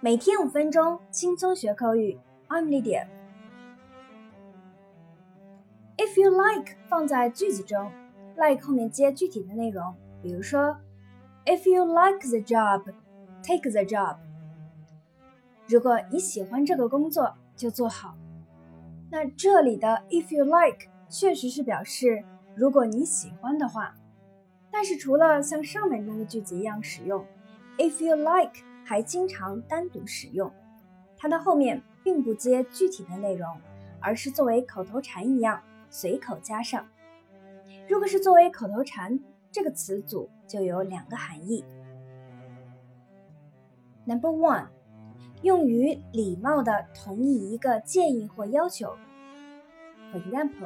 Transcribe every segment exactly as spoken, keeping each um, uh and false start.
每天五分钟，轻松学口语。I'm Lydia。If you like 放在句子中 ，like 后面接具体的内容，比如说 If you like the job, take the job。如果你喜欢这个工作，就做好。那这里的 if you like 确实是表示如果你喜欢的话，但是除了像上面那个句子一样使用 ，if you like 还经常单独使用，它的后面并不接具体的内容，而是作为口头禅一样随口加上。如果是作为口头禅，这个词组就有两个含义。Number one， 用于礼貌地同意一个建议或要求。For example,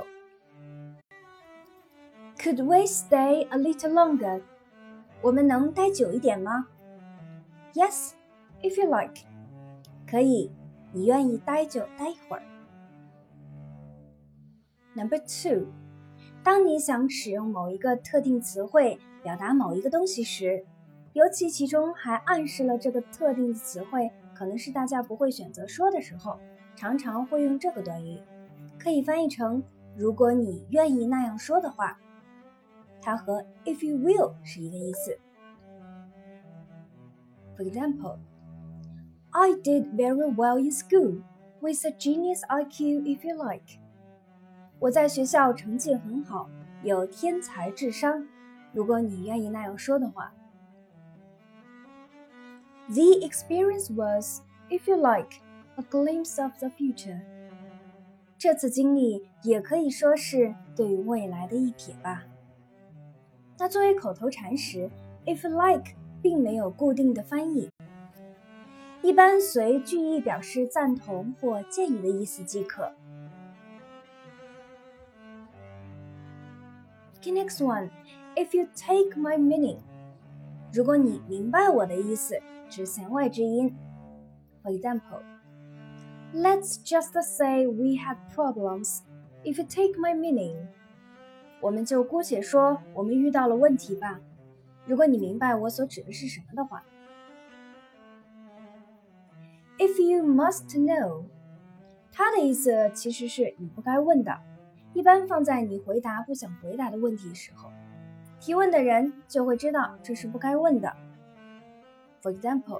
Could we stay a little longer? 我们能待久一点吗？ Yes, if you like. 可以，你愿意待就待一会儿。Number two， 当你想使用某一个特定词汇表达某一个东西时，尤其其中还暗示了这个特定的词汇可能是大家不会选择说的时候，常常会用这个短语，可以翻译成如果你愿意那样说的话。它和 if you will 是一个意思。For example, I did very well in school, with a genius I Q if you like. 我在学校成绩很好，有天才智商，如果你愿意那样说的话。The experience was, if you like, a glimpse of the future. 这次经历也可以说是对于未来的一瞥吧。那作为口头禅时 if you like 并没有固定的翻译，一般随句意表示赞同或建议的意思即可。Okay, next one. If you take my meaning. 如果你明白我的意思，指弦外之音。For example, Let's just say we had problems. If you take my meaning. 我们就姑且说我们遇到了问题吧，如果你明白我所指的是什么的话。If you must know， 它的意思其实是你不该问的，一般放在你回答不想回答的问题时候，提问的人就会知道这是不该问的。For example,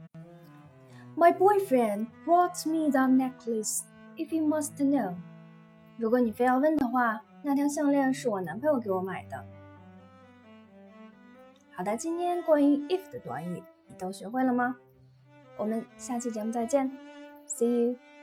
My boyfriend brought me that necklace, if you must know. 如果你非要问的话，那条项链是我男朋友给我买的。好的，今天关于 if 的短语你都学会了吗？我们下期节目再见 ，See you。